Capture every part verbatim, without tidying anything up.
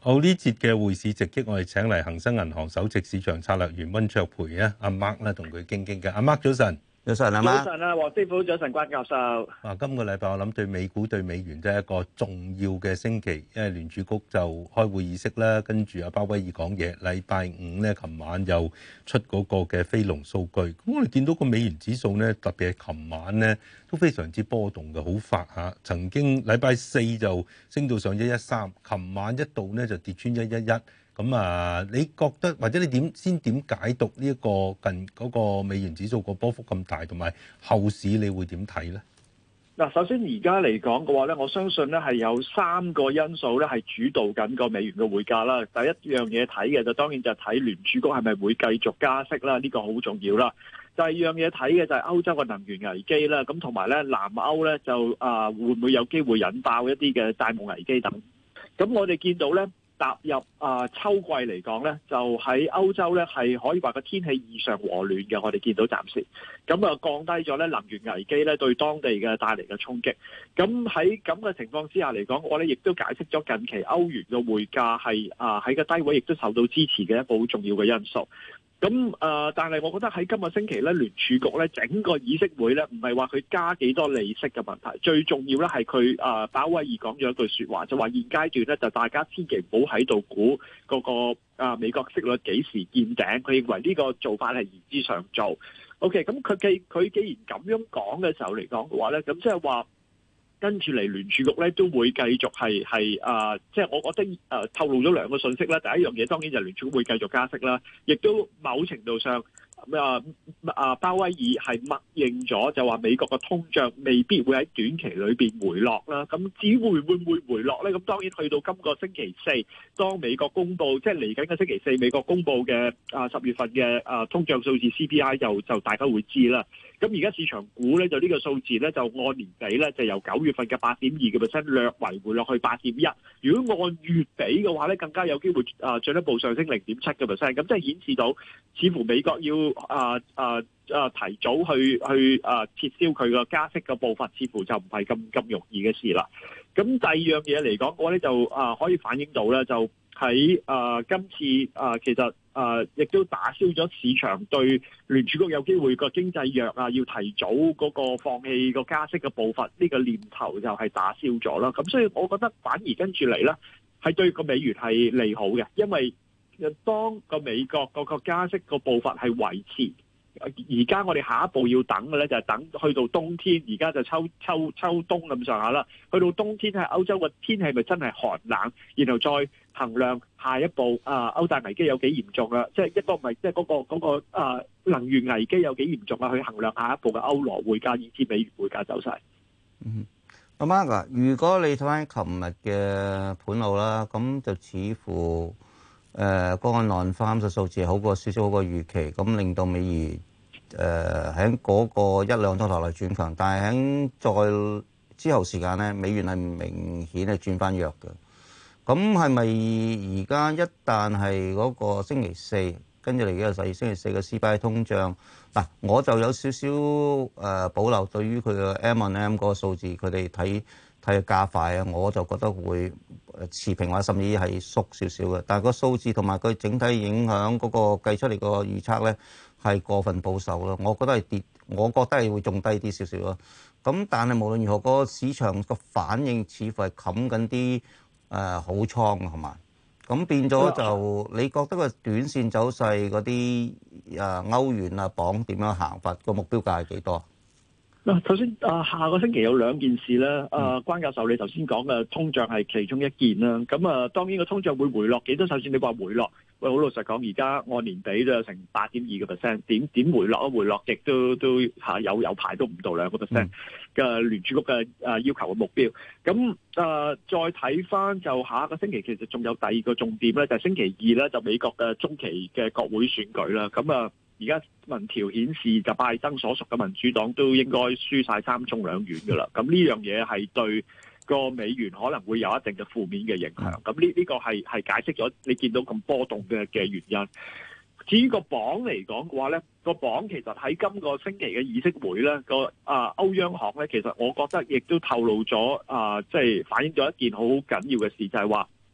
好，呢節嘅匯市直擊，我哋請嚟恒生銀行首席市場策略員溫灼培啊，阿 Mark 咧同佢傾傾嘅。阿 Mark 早晨。 早晨啊， 早晨啊，黃師傅，早晨關教授。 啊，今個禮拜我諗對美股對美元都係一個重要嘅星期，因為聯儲局就開會議息啦，跟住阿鮑威爾講嘢。禮拜五咧，琴晚又出嗰個嘅非農數據。咁我哋見到個美元指數咧，特別係琴晚咧都非常之波動嘅，好快嚇。曾經禮拜四就升到上一一三，琴晚一度咧就跌穿一一一。咁啊，你覺得或者你點先點解讀呢一個近嗰個美元指數個波幅咁大，同埋後市你會點睇咧？ 嗱，首先而家嚟講嘅話咧，我相信咧係有三個因素咧係主導緊個美元嘅匯價啦。第一樣嘢睇嘅就當然就係睇聯儲局係咪會繼續加息啦，呢個好重要啦。第二樣嘢睇嘅就係歐洲嘅能源危機啦，咁同埋咧南歐咧就啊會唔會有機會引爆一啲嘅債務危機等。咁我哋見到咧。踏入啊、呃、秋季嚟講咧，就喺歐洲咧係可以話個天氣異常和暖嘅，我哋見到暫時，咁啊降低咗咧能源危機咧對當地嘅帶嚟嘅衝擊。咁喺咁嘅情況之下嚟講，我哋亦都解釋咗近期歐元嘅匯價係啊喺個低位，亦都受到支持嘅一個好重要嘅因素。咁誒、呃，但係我覺得喺今個星期咧，聯儲局咧整個議息會咧，唔係話佢加幾多利息嘅問題，最重要咧係佢誒鮑威爾講咗一句説話，就話現階段咧就大家千祈唔好喺度估嗰個啊美國息率幾時見頂，佢認為呢個做法係言之尚早。OK，咁佢既佢既然咁樣講嘅時候嚟講嘅話咧，咁即係話。跟住嚟聯儲局咧都會繼續係係啊，即係我覺得誒、呃、透露咗兩個信息啦。第一樣嘢當然就係聯儲局會繼續加息啦，亦都某程度上啊啊鮑威爾係默認咗就話美國嘅通脹未必會喺短期裏邊回落啦。咁至於會會唔會回落咧？咁當然去到今個星期四，當美國公布即係嚟緊嘅星期四，美國公布嘅啊十月份嘅啊通脹數字 C P I 就就大家會知啦。咁而家市場估咧就呢個數字咧就按年比咧就由九月份嘅八點二嘅 percent 略為回落去八點一。如果按月比嘅話咧，更加有機會啊進一步上升零點七嘅 percent。咁即係顯示到似乎美國要啊啊啊提早去去啊撤銷佢個加息嘅步伐，似乎就唔係咁咁容易嘅事啦。咁第二樣嘢嚟講，我咧就啊可以反映到咧就。喺啊、呃，今次啊、呃，其實啊，亦、呃、都打消咗市場對聯儲局有機會個經濟弱啊，要提早嗰個放棄個加息嘅步伐，呢、這個念頭就係打消咗啦。咁所以我覺得反而跟住嚟咧，係對個美元係利好嘅，因為當個美國嗰個加息個步伐係維持。而家我哋下一步要等嘅咧，就係等去到冬天。而家就秋秋秋冬咁上下啦。去到冬天喺歐洲嘅天氣咪真係寒冷，然後再衡量下一步啊歐債危機有幾嚴重啊？即係一個唔係即係嗰個嗰個啊能源危機有幾嚴重啊？去衡量下一步嘅歐羅匯價以至美元匯價走勢。 嗯，阿 Mark 啊，如果你睇翻琴日嘅盤路啦，咁就似乎誒嗰個non farm嘅數字好過少少好過預期，咁令到美元誒喺嗰個一兩鐘頭內轉強，但係喺再之後時間咧，美元係明顯係轉翻弱嘅。咁係咪而家一旦係嗰個星期四，跟住嚟嘅十二星期四嘅 C P I 通脹嗱，我就有少少誒保留對於佢嘅 M on M 嗰個數字，佢哋睇睇加快啊，我就覺得會持平或者甚至係縮少少嘅。但係個數字同埋佢整體影響嗰個計出嚟個預測咧係過分保守咯，我覺得係跌，我覺得係會仲低啲少少咯。咁但係無論如何，個市場個反應似乎係冚緊啲誒好倉係嘛？咁變咗就你覺得個短線走勢嗰啲誒歐元啊鎊點樣行法？個目標價係幾多？ 嗱，頭先啊，下個星期有兩件事咧。啊，關教授，你頭先講嘅通脹係其中一件啦。咁啊，當然個通脹會回落幾多？首先你話回落，喂，好老實講，而家按年比都有成八點二個 percent，點點回落啊？回落極都都嚇有有排都唔到兩個 percent 嘅聯儲局嘅啊要求嘅目標。咁啊，再睇翻就下個星期其實仲有第二個重點咧，就係星期二咧就美國嘅中期嘅國會選舉啦。咁啊。而家民調顯示，就拜登所屬嘅民主黨都應該輸晒三中兩院㗎啦。咁呢樣嘢係對個美元可能會有一定嘅負面嘅影響。咁呢呢個係係解釋咗你見到咁波動嘅嘅原因。至於個鎊嚟講嘅話咧，個鎊其實喺今個星期嘅議息會咧，個啊歐央行咧，其實我覺得亦都透露咗啊，即係反映咗一件好緊要嘅事，就係話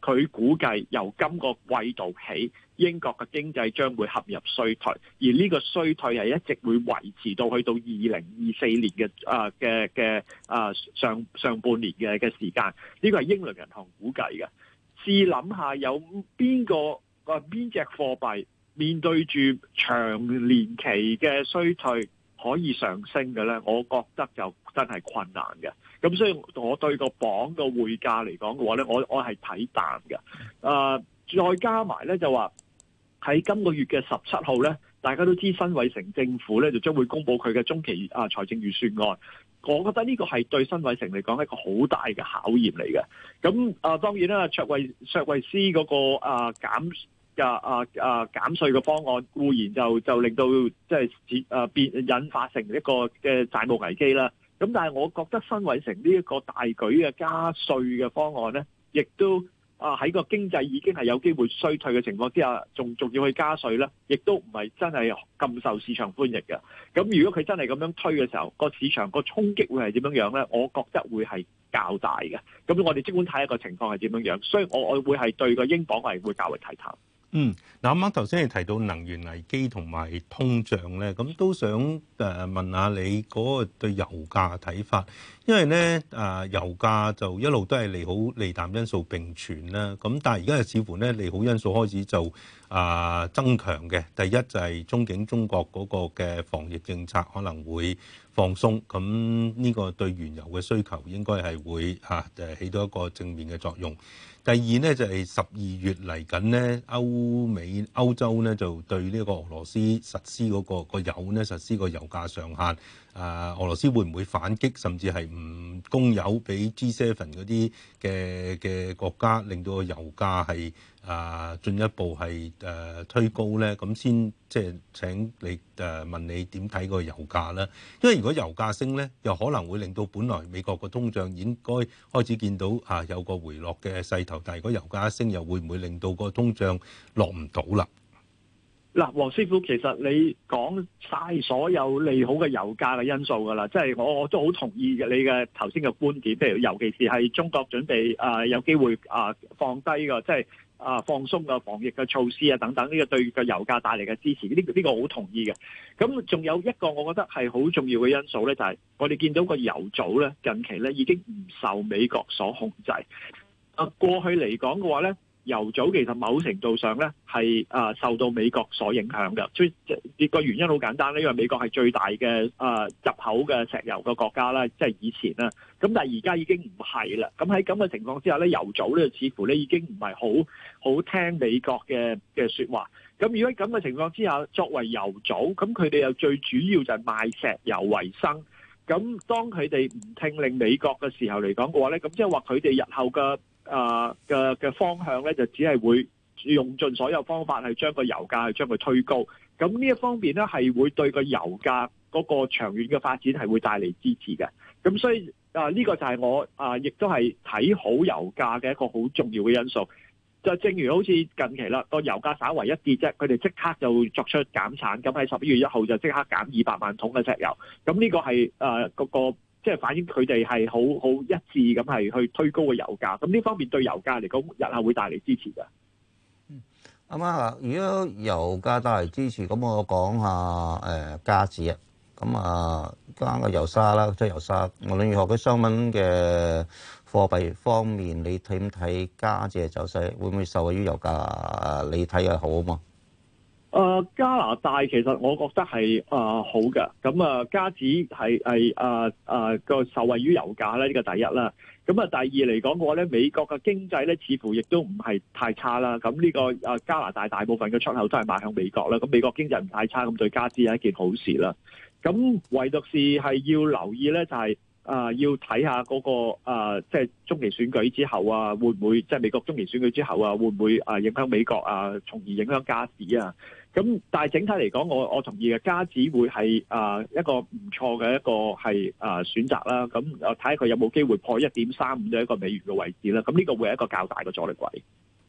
佢估計由今個季度起，英國嘅經濟將會陷入衰退，而呢個衰退係一直會維持到去到二零二四年嘅啊嘅嘅啊上上半年嘅嘅時間。呢個係英倫銀行估計嘅。試諗下有邊個啊邊隻貨幣面對住長年期嘅衰退可以上升嘅咧？我覺得就真係困難嘅。咁所以我對個鎊嘅匯價嚟講嘅話咧，我我係睇淡嘅。啊、呃，再加埋咧就話喺今個月嘅十七號咧，大家都知辛偉誠政府咧就將會公布佢嘅中期啊財政預算案。我覺得呢個係對辛偉誠嚟講一個好大嘅考驗嚟嘅。咁啊、呃，當然啦，卓慧卓慧思嗰個啊減嘅啊啊減稅嘅方案固然就就令到即係啊變引發成一個嘅債務危機啦。咁但係我覺得辛偉誠呢一個大舉嘅加稅嘅方案咧，亦都啊喺個經濟已經係有機會衰退嘅情況之下，仲仲要去加稅咧，亦都唔係真係咁受市場歡迎嘅。咁如果佢真係咁樣推嘅時候，個市場個衝擊會係點樣樣咧？我覺得會係較大嘅。咁我哋即管睇下個情況係點樣樣，所以我我會係對個英鎊係會較為睇淡。 嗯，嗱啱啱頭先你提到能源危機同埋通脹咧，咁都想誒問下你嗰個對油價嘅睇法，因為咧誒油價就一路都係利好利淡因素並存啦，咁但係而家又似乎咧利好因素開始就啊增強嘅。第一就係中景中國嗰個嘅防疫政策可能會放鬆，咁呢個對原油嘅需求應該係會嚇誒起到一個正面嘅作用。第二呢，就係十二月嚟緊呢，歐美歐洲呢就對呢個俄羅斯實施嗰個個油呢實施個油價上限。啊，俄羅斯會唔會反擊，甚至係唔供油俾 G 七 嗰啲嘅嘅國家，令到個油價係啊進一步係誒、啊、推高咧？咁先即係請你誒、啊、問你點睇個油價啦？因為如果油價升咧，又可能會令到本來美國個通脹應該開始見到啊有個回落嘅勢頭，但係如果油價一升，又會唔會令到個通脹落唔到啦？ 嗱，黃師傅，其實你講晒所有利好嘅油價嘅因素㗎啦，即係我我都好同意嘅你嘅頭先嘅觀點，譬如尤其是係中國準備啊、呃、有機會啊、呃、放低個即係啊放鬆個防疫嘅措施啊等等，呢個對個油價帶嚟嘅支持，呢、這個呢、這個好同意嘅。咁仲有一個我覺得係好重要嘅因素咧，就係、是、我哋見到個油組咧近期咧已經唔受美國所控制。啊，過去嚟講嘅話咧，油組其實某程度上咧係啊受到美國所影響嘅，所以個原因好簡單咧，因為美國係最大嘅啊入口嘅石油嘅國家啦，即係以前啦。咁但係而家已經唔係啦。咁喺咁嘅情況之下咧，油組咧似乎咧已經唔係好好聽美國嘅嘅説話。咁如果喺咁嘅情況之下，作為油組，咁佢哋又最主要就係賣石油為生。咁當佢哋唔聽令美國嘅時候嚟講嘅話咧，咁即係話佢哋日後嘅啊嘅嘅方向咧，就只係會用盡所有方法去將個油價去將佢推高。咁呢一方面咧，係會對個油價嗰個長遠嘅發展係會帶嚟支持嘅。咁所以啊，呢個就係我啊，亦都係睇好油價嘅一個好重要嘅因素。就正如好似近期啦，個油價稍為一跌啫，佢哋即刻就作出減產，咁喺十一月一號就即刻減二百萬桶嘅石油。咁呢個係誒嗰個即係反映佢哋係好好一致咁係去推高個油價。咁呢方面對油價嚟講，日後會帶嚟支持嘅。 嗯，阿媽啊，如果油價帶嚟支持，咁我講下誒加紙啊。咁啊，加個油沙啦，即係油沙。無論如何，佢商品嘅貨幣方面，你睇唔睇加紙嘅走勢？會唔會受惠於油價？你睇係好啊嘛？ 誒、呃、加拿大其實我覺得係誒、呃、好嘅，咁啊加紙係係誒誒個受惠於油價咧，呢、這個第一啦。咁啊第二嚟講嘅話咧，美國嘅經濟咧似乎亦都唔係太差啦。咁呢、這個誒、呃、加拿大大部分嘅出口都係賣向美國啦。咁美國經濟唔太差，咁對加紙係一件好事啦。咁唯獨是係要留意咧，就係、是。啊、呃，要睇下嗰、那個啊，即、呃、係、就是、中期選舉之後啊，會唔會即係、就是、美國中期選舉之後啊，會唔會啊影響美國啊，從而影響加紙啊？咁但係整體嚟講，我我同意嘅，加紙會係啊、呃、一個唔錯嘅一個係啊、呃、選擇啦。咁啊睇下佢有冇機會破一點三五嘅一個美元嘅位置啦。咁呢個會係一個較大嘅阻力位。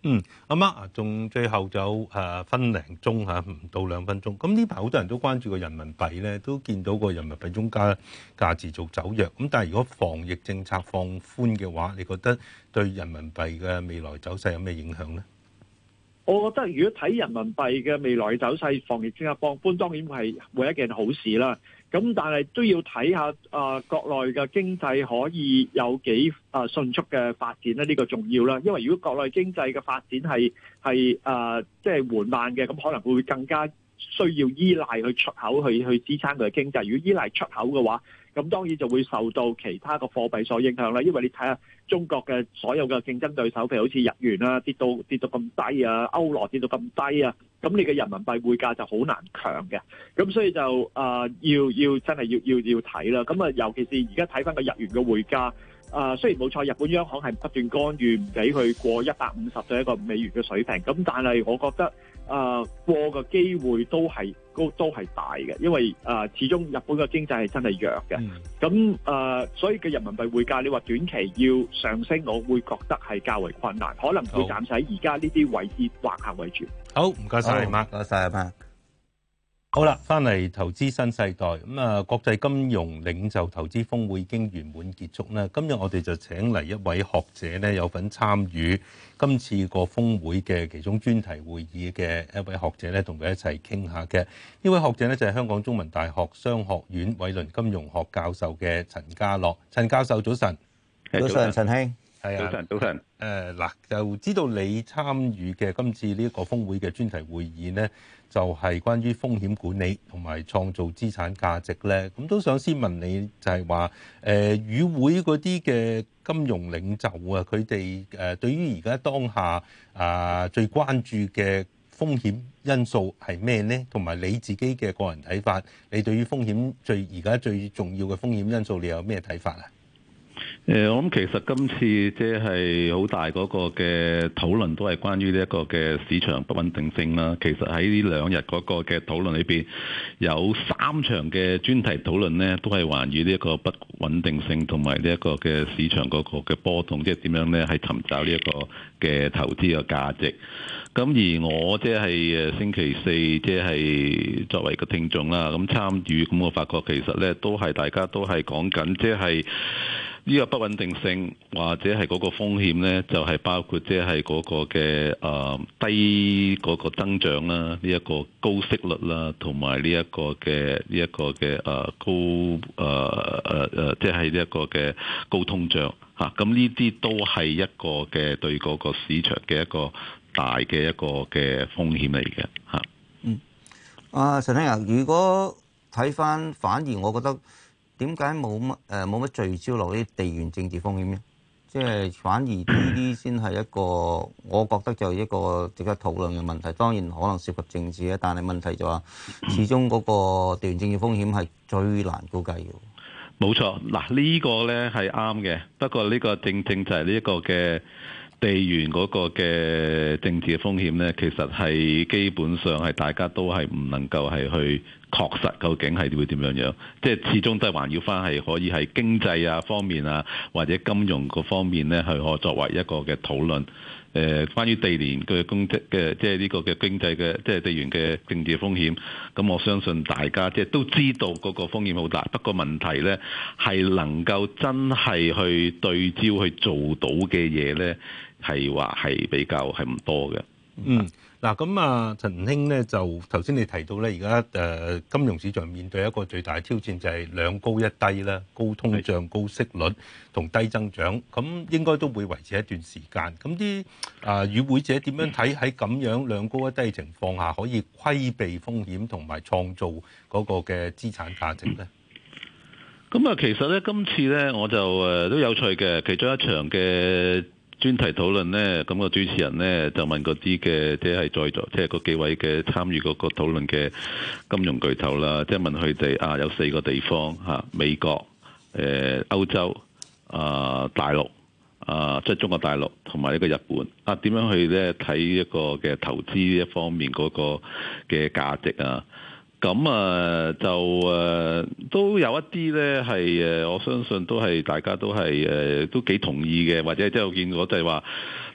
嗯，阿 Mark 啊，仲最後就誒分零鐘嚇，唔到兩分鐘。咁呢排好多人都關注個人民幣咧，都見到個人民幣中間價持續走弱。咁但係如果防疫政策放寬嘅話，你覺得對人民幣嘅未來走勢有咩影響咧？ 我覺得如果睇人民幣嘅未來走勢，防疫政策放寬當然係會一件好事啦。咁但係都要睇下啊、呃，國內嘅經濟可以有幾啊、呃、迅速嘅發展咧？呢、呢個重要啦。因為如果國內經濟嘅發展係係啊即係緩慢嘅，咁可能會更加需要依賴去出口去去支撐佢嘅經濟。如果依賴出口嘅話，咁當然就會受到其他嘅貨幣所影響啦。因為你睇下中國嘅所有嘅競爭對手，譬如好似日元啊跌到跌到咁低啊，歐羅跌到咁低啊，咁你嘅人民幣匯價就好難強嘅。咁所以就啊、呃、要要真係要要要睇啦。咁啊，尤其是而家睇翻個日元嘅匯價。啊、呃，雖然冇錯，日本央行係不斷干預，唔俾佢過一百五十對一個美元嘅水平。咁但係我覺得啊、呃，過嘅機會都係都都係大嘅，因為啊、呃，始終日本嘅經濟係真係弱嘅。咁啊、呃，所以嘅人民幣匯價，你話短期要上升，我會覺得係較為困難，可能會暫時喺而家呢啲位置橫行為主。 好，唔該晒， 唔該晒，阿媽。 好啦，翻嚟投資新世代咁啊！國際金融領袖投資峰會已經圓滿結束啦。今日我哋就請嚟一位學者咧，有份參與今次個峰會嘅其中專題會議嘅一位學者咧，同佢一齊傾下嘅。呢位學者咧就係香港中文大學商學院偉倫金融學教授嘅陳家樂。陳教授早晨。 早晨，陳兄。 係啊， 早晨，早晨。 誒嗱，就知道你參與嘅今次呢個峰會嘅專題會議呢，就係關於風險管理同埋創造資產價值咧。咁都想先問你，就係話誒與會嗰啲嘅金融領袖啊，佢哋誒對於而家當下啊最關注嘅風險因素係咩呢？同埋你自己嘅個人睇法，你對於風險最而家最重要嘅風險因素，你有咩睇法啊？ 誒，我諗其實今次即係好大嗰個嘅討論都係關於呢一個嘅市場不穩定性啦。其實喺呢兩日嗰個嘅討論裏邊，有三場嘅專題討論呢，都係環繞呢一個不穩定性同埋呢一個嘅市場嗰個嘅波動，即係點樣呢？係尋找呢一個嘅投資嘅價值。咁而我即係誒星期四即係作為個聽眾啦，咁參與，咁我發覺其實呢都係大家都係講緊即係。呢個不穩定性或者係嗰個風險呢，就係、是、包括即係嗰個嘅誒、呃、低嗰個增長啦，呢、這、一個高息率啦，同埋呢一個嘅呢一個嘅誒高誒誒誒，即係呢一個嘅高通脹嚇。咁呢啲都係一個嘅對嗰個市場嘅一個大嘅一個嘅風險嚟嘅嚇。 嗯，啊陳生啊，如果睇翻，反而我覺得。點解冇乜誒冇乜聚焦落啲地緣政治風險咧？即係反而呢啲先係一個，我覺得就係一個值得討論嘅問題。當然可能涉及政治咧，但係問題就話，始終嗰個地緣政治風險係最難估計嘅。 冇錯，嗱呢個咧係啱嘅。不過呢個正正就係呢一個嘅地緣嗰個嘅政治嘅風險咧，其實係基本上係大家都係唔能夠係去。確實究竟係會點樣樣？即係始終都係環繞翻係可以係經濟啊方面啊，或者金融嗰方面咧，係可作為一個嘅討論。誒、呃，關於地緣嘅公職嘅，即係呢個嘅經濟嘅，即係地緣嘅政治風險。咁我相信大家即係都知道嗰個風險好大。不過問題咧係能夠真係去對焦去做到嘅嘢咧，係話係比較係唔多嘅。 嗯。嗱咁啊，陳兄咧就頭先你提到咧，而家誒金融市場面對一個最大嘅挑戰就係兩高一低啦，高通脹、高息率同低增長，咁應該都會維持一段時間。咁啲啊與會者點樣睇喺咁樣兩高一低情況下，可以規避風險同埋創造嗰個嘅資產價值咧？ 咁啊，其實咧今次咧我就誒都有趣嘅，其中一場嘅專題討論呢，咁個主持人呢，就問嗰啲嘅，即係在座，即係嗰幾位嘅參與嗰個討論嘅金融巨頭啦，即係問佢哋啊，有四個地方嚇，美國、誒歐洲、啊大陸、啊即係中國大陸同埋呢個日本啊，點樣去咧睇一個嘅投資呢一方面嗰個嘅價值啊？咁啊，就誒、啊、都有一啲咧係誒，我相信都係大家都係誒、啊、都幾同意嘅，或者即係我見過就係話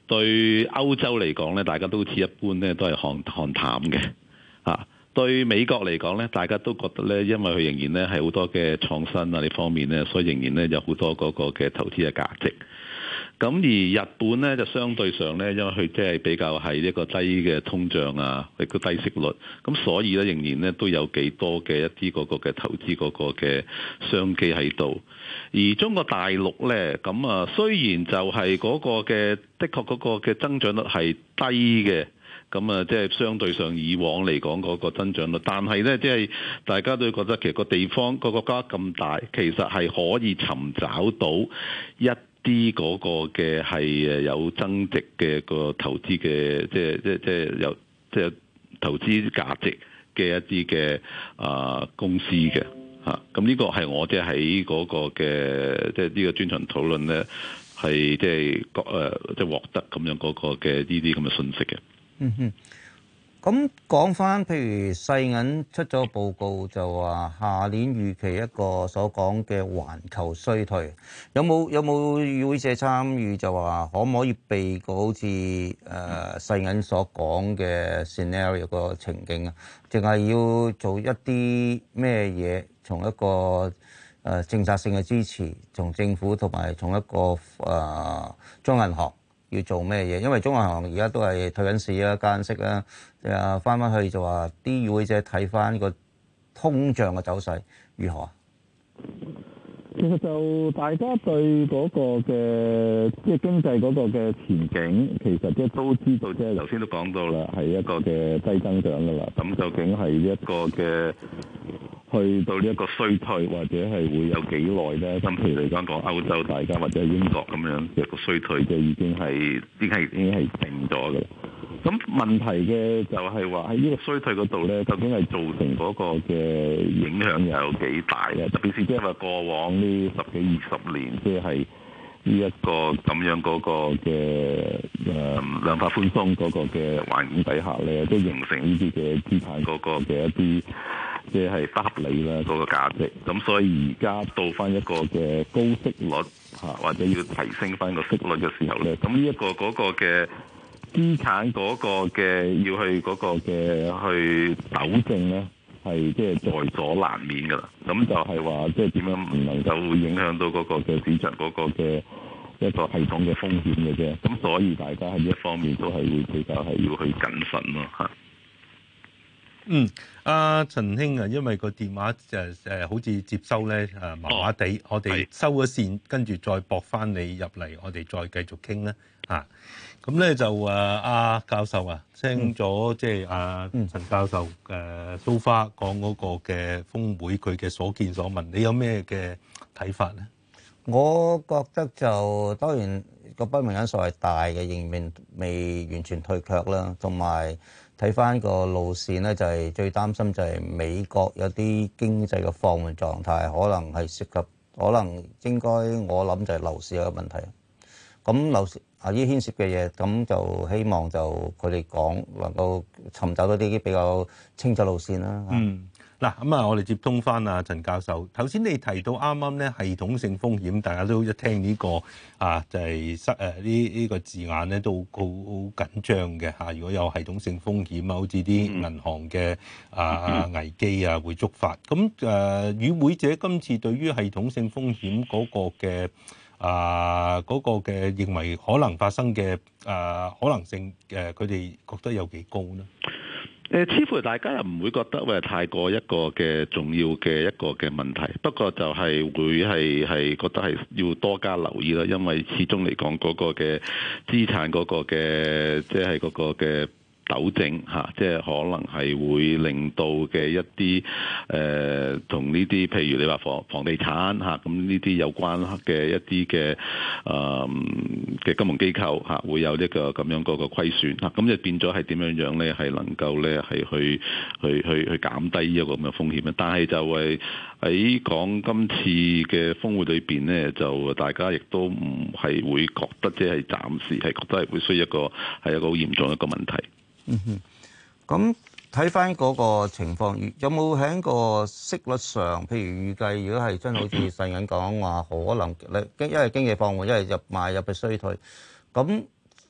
對歐洲嚟講咧，大家都似一般咧，都係看看淡嘅嚇。對美國嚟講咧，大家都覺得咧，因為佢仍然咧係好多嘅創新啊呢方面咧，所以仍然咧有好多嗰個嘅投資嘅價值。咁而日本咧就相對上咧，因為佢即係比較係一個低嘅通脹啊，亦都低息率，咁所以咧仍然咧都有幾多嘅一啲嗰個嘅投資嗰個嘅商機喺度。而中國大陸咧，咁啊雖然就係嗰個嘅的確嗰個嘅增長率係低嘅。咁啊，即係相對上以往嚟講嗰個增長率，但係咧，即係大家都覺得其實個地方個國家咁大，其實係可以尋找到一啲嗰個嘅係誒有增值嘅個投資嘅，即係即係即係有即係投資價值嘅一啲嘅啊公司嘅嚇。咁呢個係我即係喺嗰個嘅即係呢個專場討論咧，係即係誒即係獲得咁樣嗰個嘅呢啲咁嘅信息嘅。 嗯哼，咁講翻，譬如世銀出咗個報告就話下年預期一個所講嘅環球衰退，有冇有冇與會者參與就話可唔可以避過好似誒、呃、世銀所講嘅 scenario 個情景啊？淨係要做一啲咩嘢，從一個誒、呃、政策性嘅支持，從政府同埋從一個誒、呃、中銀行。要做咩嘢？因為中銀行而家都係退緊市啦、加息啦，誒翻翻去就話啲與會者睇翻個通脹嘅走勢如何啊？ 其實就大家對嗰個嘅即係經濟嗰個嘅前景，其實即係都知道，即係頭先都講到啦，係一個嘅低增長噶啦。咁究竟係一個嘅去到呢一個衰退，或者係會有幾耐咧？咁譬如嚟講講歐洲，大家或者係英國咁樣一個衰退，即係已經係已經係已經係定咗嘅啦。咁問題嘅就係話喺呢個衰退嗰度咧，究竟係造成嗰個嘅影響又有幾大咧？特別是即係話過往呢十幾二十年，即係呢一個咁樣嗰個嘅誒量化寬鬆嗰個嘅環境底下咧，都形成呢啲嘅資產嗰個嘅一啲即係不合理啦嗰個價值。咁所以而家到翻一個嘅高息率嚇，或者要提升翻個息率嘅時候咧，咁呢一個嗰個嘅資產嗰個嘅要去嗰個嘅去糾正咧，係即係在所難免㗎啦。咁就係話即係點樣唔能夠會影響到嗰個嘅市場嗰個嘅一個系統嘅風險嘅啫。咁所以大家喺呢一方面都係會比較係要去謹慎咯嚇。 嗯，阿陳兄啊，因為個電話誒誒好似接收咧誒麻麻地，哦、我哋收咗線，跟住再駁翻你入嚟，我哋再繼續傾啦嚇。咁、啊、咧就誒阿、啊、教授啊，聽咗即係阿陳教授誒蘇花講嗰個嘅峰會，佢嘅所見所聞，你有咩嘅睇法咧？ 我覺得就當然個不明因素係大嘅，仍然未完全退卻啦，同埋。睇翻個路線咧，就係、是、最擔心就係美國有啲經濟嘅放緩狀態，可能係涉及，可能應該我諗就係樓市有個問題。咁樓市啊，依牽涉嘅嘢，咁就希望就佢哋講能夠尋找到啲比較清楚路線啦。 嗯。嗱咁啊，我哋接通翻啊陳教授。頭先你提到啱啱咧系統性風險，大家都一聽呢、這個啊，就係失誒呢呢個字眼咧，都好好緊張嘅嚇。如果有系統性風險啊，好似啲銀行嘅啊危機啊會觸發。咁誒與會者今次對於系統性風險嗰個嘅啊嗰、那個嘅認為可能發生嘅啊可能性誒，佢哋覺得有幾高呢？ 誒，似乎大家又唔會覺得喂太過一個嘅重要嘅一個嘅問題，不過就係會係係覺得係要多加留意啦，因為始終嚟講嗰個嘅資產嗰個嘅即係嗰個嘅糾正嚇，即係可能係會令到嘅一啲誒同呢啲，譬如你話房房地產嚇，咁呢啲有關嘅一啲嘅誒嘅金融機構嚇，會有呢個咁樣嗰個虧損嚇，咁就變咗係點樣樣咧？係能夠咧係去去去去減低呢一個咁嘅風險咧。但係就係喺講今次嘅峰會裏邊咧，就大家亦都唔係會覺得即係暫時係覺得係會需要一個係一個好嚴重一個問題。 嗯哼，咁睇翻嗰個情況，有冇喺個息率上，譬如預計，如果係真好似世銀講話，可能你因為經濟放緩，因為入賣入嘅衰退，咁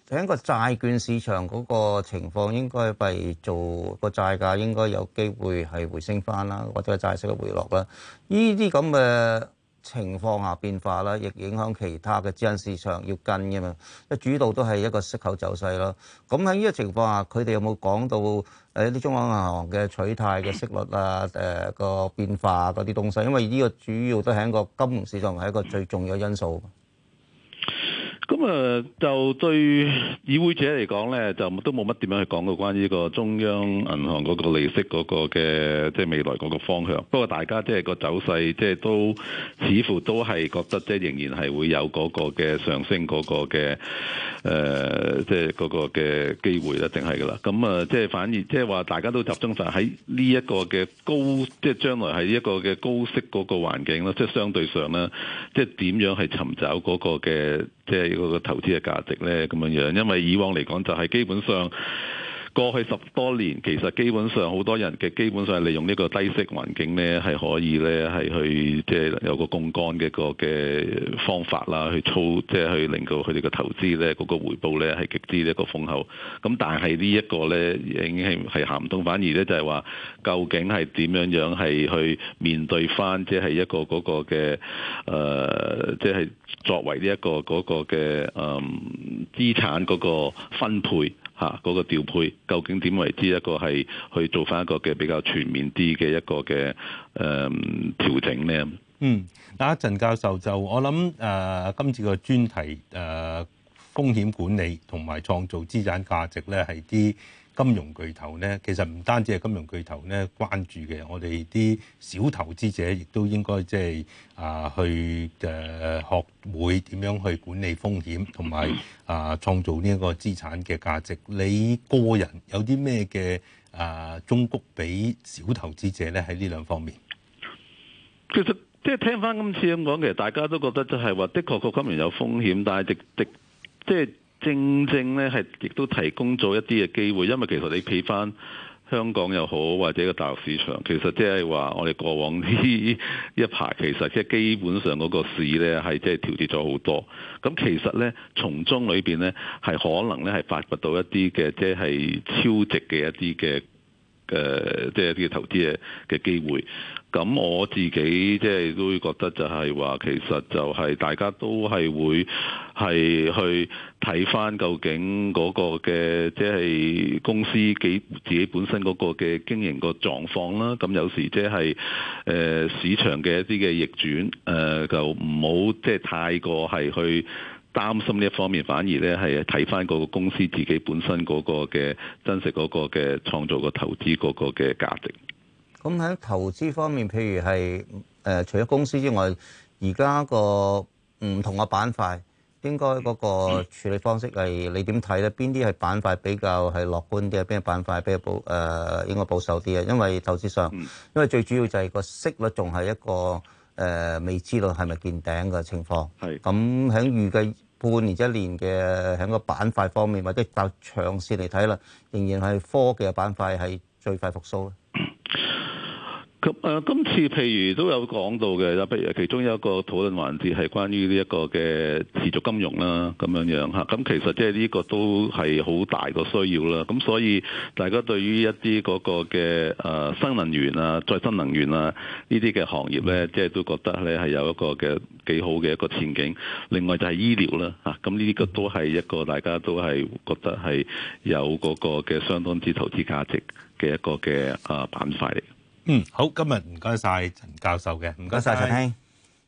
喺個債券市場嗰個情況，應該係做個債價應該有機會係回升翻啦，或者係債息嘅回落啦。呢啲咁嘅情況下變化啦，亦影響其他嘅資產市場要跟嘅嘛。即主導都係一個息口走勢咯。咁喺呢個情況下，佢哋有冇講到誒一啲中央銀行嘅取態嘅息率啊、誒、呃、個變化嗰啲東西？因為呢個主要都係一個金融市場係一個最重要嘅因素。 咁啊，就對議會者嚟講咧，就都冇乜點樣去講到關於個中央銀行嗰個利息嗰個嘅即係未來嗰個方向。不過大家即係個走勢，即係都似乎都係覺得即係仍然係會有嗰個嘅上升嗰個嘅誒，即係嗰個嘅機會一定係噶啦。咁啊，即係反而即係話大家都集中曬喺呢一個嘅高，即係將來係一個嘅高息嗰個環境啦。即係相對上咧，即係點樣係尋找嗰個嘅即係嗰個投資嘅價值咧，咁樣樣，因為以往嚟講就係基本上過去十多年，其實基本上好多人嘅基本上係利用呢個低息環境咧，係可以咧係去即係有個槓桿嘅個嘅方法啦，去操即係去令到佢哋嘅投資咧嗰個回報咧係極之一個豐厚。咁但係呢一個咧已經係係行唔通，反而咧就係話究竟係點樣樣係去面對翻即係一個嗰個嘅誒，即係作為呢一個嗰個嘅誒資產嗰個分配。嚇嗰個調配究竟點為之一個係去做翻一個嘅比較全面啲嘅一個嘅誒、呃、調整呢？ 嗯，嗱，陳教授就我諗誒、呃、今次個專題誒、呃、風險管理同埋創造資產價值咧係啲金融巨頭咧，其實唔單止係金融巨頭咧關注嘅，我哋啲小投資者亦都應該即係啊去誒、呃、學會點樣去管理風險，同埋啊創造呢一個資產嘅價值。你個人有啲咩嘅啊忠告俾小投資者咧喺呢兩方面？ 其實即係聽翻今次咁講，其實大家都覺得就係話，的確個金融有風險，但係的的即係。正正咧係亦都提供咗一啲嘅機會，因為其實你睇翻香港又好，或者個大陸市場，其實即係話我哋過往呢一排其實即係基本上嗰個市咧係即係調節咗好多。咁其實咧從中裏邊咧係可能咧係發掘到一啲嘅即係超值嘅一啲嘅誒，即係一啲嘅投資嘅嘅機會。咁我自己即係都會覺得就係話，其實就係大家都係會係去睇翻究竟嗰個嘅即係公司幾自己本身嗰個嘅經營個狀況啦。咁有時即係誒市場嘅一啲嘅逆轉，誒、呃、就唔好即係太過係去擔心呢一方面，反而咧係睇翻嗰個公司自己本身嗰個嘅真實嗰個嘅創造個投資嗰個嘅價值。 咁喺投資方面，譬如係誒、呃、除咗公司之外，而家個唔同嘅板塊，應該嗰個處理方式係你點睇咧？邊啲係板塊比較係樂觀啲啊？邊個板塊比較保誒、呃、應該保守啲啊？因為投資上，因為最主要就係個息率仲係一個誒、呃、未知道係咪見頂嘅情況。係咁喺預計半年一年嘅喺個板塊方面，或者較長線嚟睇啦，仍然係科技嘅板塊係最快復甦。 咁誒，今次譬如都有講到嘅，譬如其中有一個討論環節係關於呢一個嘅持續金融啦，咁樣樣嚇。咁其實即係呢個都係好大個需要啦。咁所以大家對於一啲嗰個嘅誒新能源啊、再生能源啊呢啲嘅行業咧，即係都覺得咧係有一個嘅幾好嘅一個前景。另外就係醫療啦嚇，咁呢個都係一個大家都係覺得係有嗰個嘅相當之投資價值嘅一個嘅誒板塊嚟。 嗯，好，今日唔該晒陳教授嘅，唔該晒陳兄。